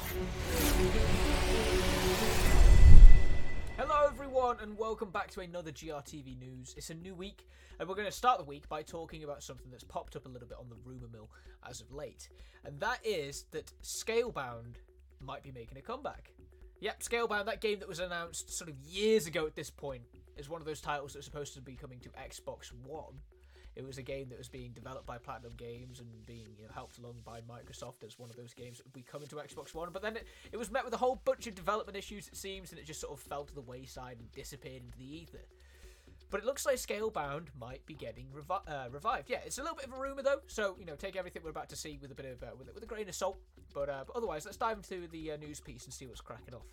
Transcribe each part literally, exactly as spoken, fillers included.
Hello everyone and welcome back to another G R T V News. It's a new week and we're going to start the week by talking about something that's popped up a little bit on the rumour mill as of late. And that is that Scalebound might be making a comeback. Yep, Scalebound, that game that was announced sort of years ago at this point, is one of those titles that's supposed to be coming to Xbox One. It was a game that was being developed by Platinum Games and being you know, helped along by Microsoft as one of those games that would be coming to Xbox One. But then it, it was met with a whole bunch of development issues, it seems, and it just sort of fell to the wayside and disappeared into the ether. But it looks like Scalebound might be getting revi- uh, revived. Yeah, it's a little bit of a rumour though, so you know, take everything we're about to see with a bit of uh, with, with a grain of salt. But, uh, but otherwise, let's dive into the uh, news piece and see what's cracking off.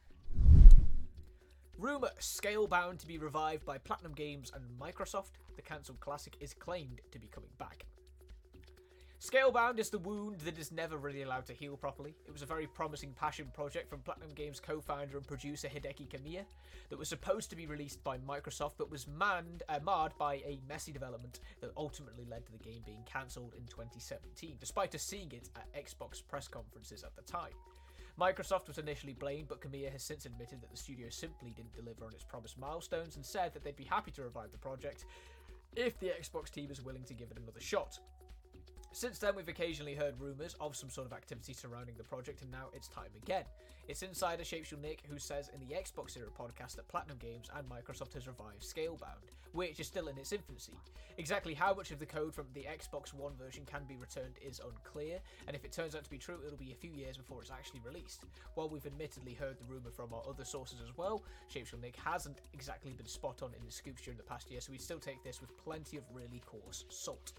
Rumour: Scalebound to be revived by Platinum Games and Microsoft. The cancelled classic is claimed to be coming back. Scalebound is the wound that is never really allowed to heal properly. It was a very promising passion project from Platinum Games co-founder and producer Hideki Kamiya that was supposed to be released by Microsoft but was manned, uh, marred by a messy development that ultimately led to the game being cancelled in twenty seventeen, despite us seeing it at Xbox press conferences at the time. Microsoft was initially blamed, but Kamiya has since admitted that the studio simply didn't deliver on its promised milestones and said that they'd be happy to revive the project if the Xbox team is willing to give it another shot. Since then, we've occasionally heard rumours of some sort of activity surrounding the project, and now it's time again. It's insider Shapeshul Nick who says in the Xbox Era podcast that Platinum Games and Microsoft has revived Scalebound, which is still in its infancy. Exactly how much of the code from the Xbox One version can be returned is unclear, and if it turns out to be true, it'll be a few years before it's actually released. While we've admittedly heard the rumour from our other sources as well, Shapeshul Nick hasn't exactly been spot on in the scoops during the past year, so we still take this with plenty of really coarse salt.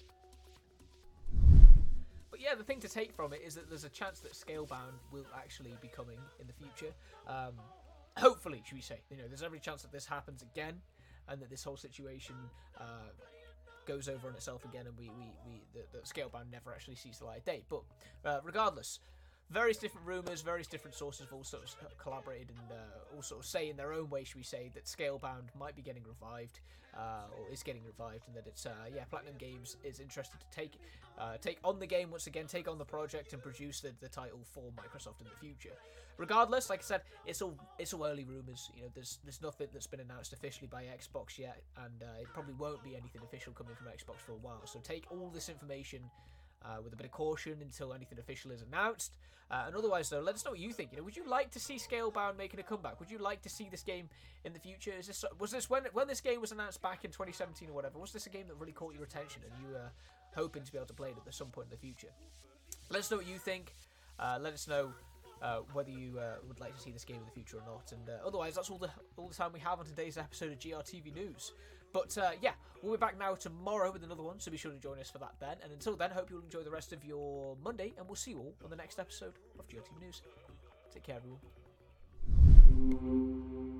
But yeah, the thing to take from it is that there's a chance that Scalebound will actually be coming in the future. Um, hopefully, should we say. You know, there's every chance that this happens again, and that this whole situation uh, goes over on itself again, and we, we, we the, the Scalebound never actually sees the light of day. But uh, regardless, various different rumours, various different sources have all sort of collaborated and uh, all sort of say in their own way, should we say, that Scalebound might be getting revived, uh, or is getting revived, and that it's, uh, yeah, Platinum Games is interested to take uh, take on the game once again, take on the project and produce the, the title for Microsoft in the future. Regardless, like I said, it's all it's all early rumours. You know, there's there's nothing that's been announced officially by Xbox yet, and uh, it probably won't be anything official coming from Xbox for a while. So take all this information Uh, with a bit of caution until anything official is announced. Uh, and otherwise, though, let us know what you think. You know, would you like to see Scalebound making a comeback? Would you like to see this game in the future? Is this was this when when this game was announced back in twenty seventeen or whatever? Was this a game that really caught your attention and you were hoping to be able to play it at some point in the future? Let us know what you think. Uh, let us know uh, whether you uh, would like to see this game in the future or not. And uh, otherwise, that's all the all the time we have on today's episode of G R T V News. But uh, yeah, we'll be back now tomorrow with another one, so be sure to join us for that then. And until then, hope you'll enjoy the rest of your Monday, and we'll see you all on the next episode of G R T V News. Take care, everyone.